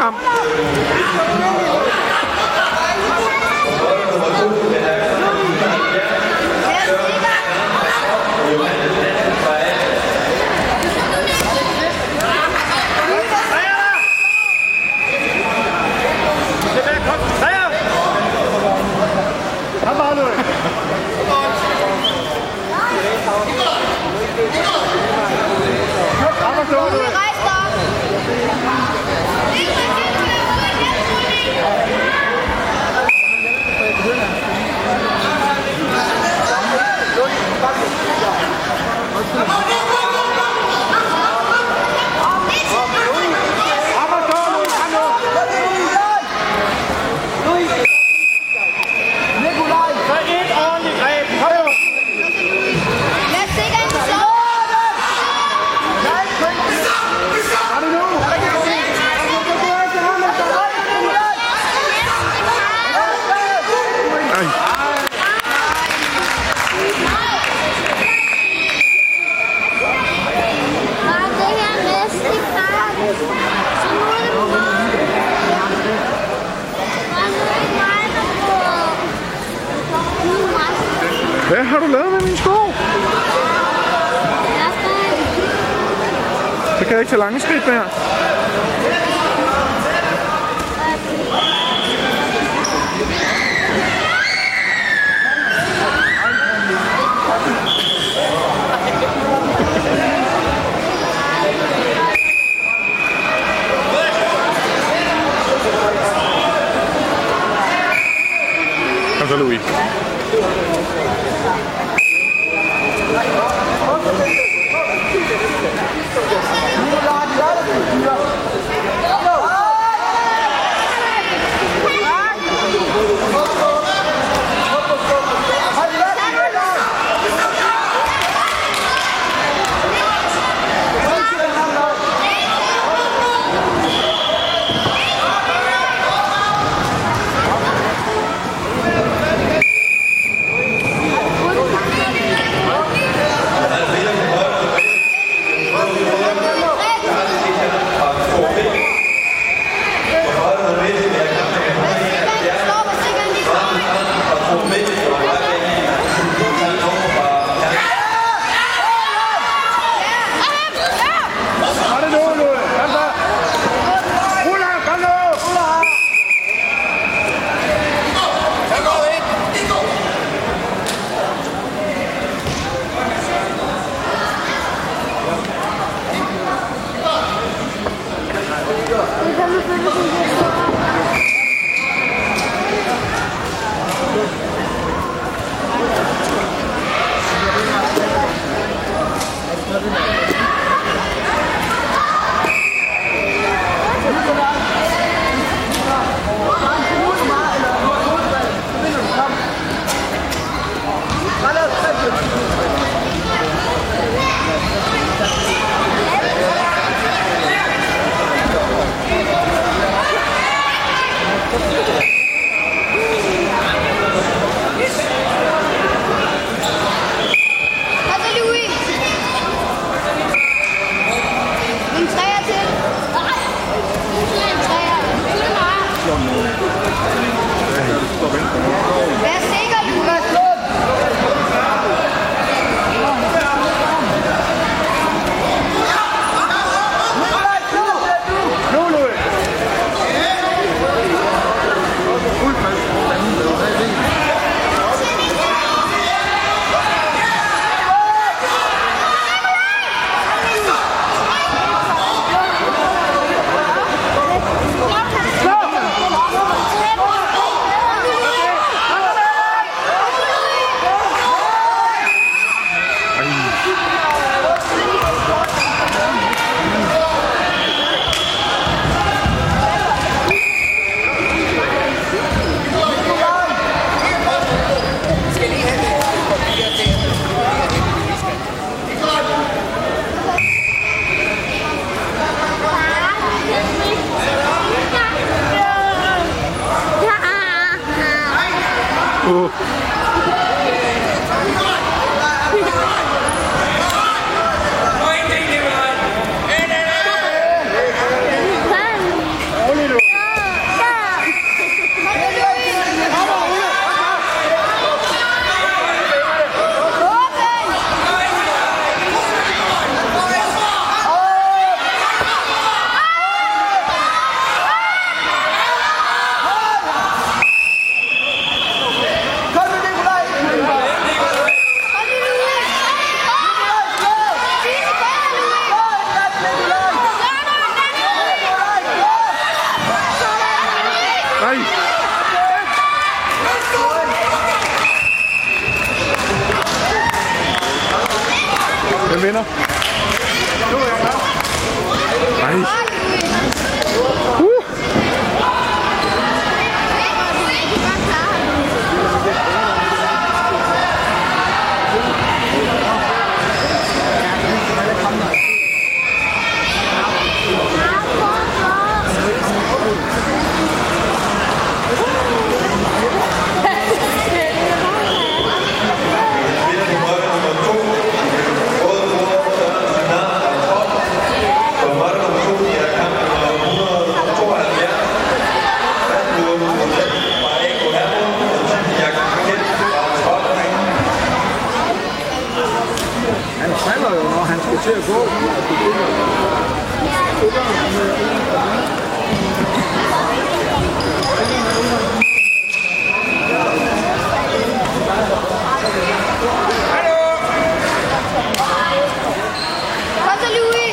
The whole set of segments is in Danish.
frem. Hvad har du lavet med min sko? Så kan jeg ikke tage lange skridt mere. Kom så, Louis. Nikolaj, Hvem vinder? Nej. Han falder jo, når han skal til at gå. Kom så, Louis!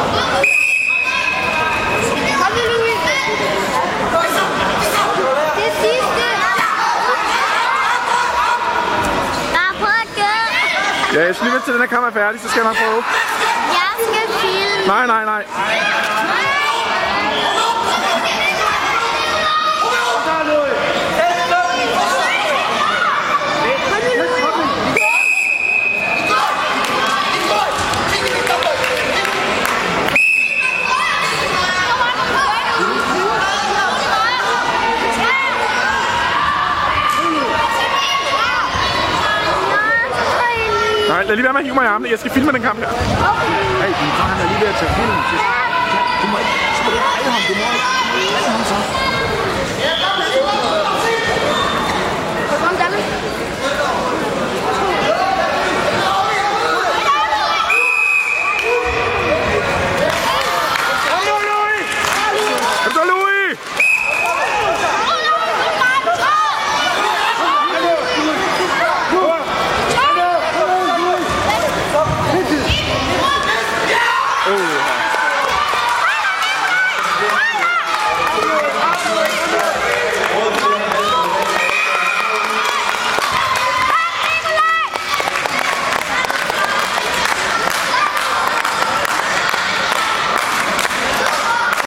Kom så, Louis! Det er sidste! Ja, jeg skal lige vente til den her kammer er færdig, så skal jeg nok prøve. Jeg skal filme. Nej, nej, nej. Nej, lad lige være med at hive mig i armene. Jeg skal filme den kamp her. Hey, din far er lige ved at tage film. Du må ikke dreje ham, du må ikke dreje ham så.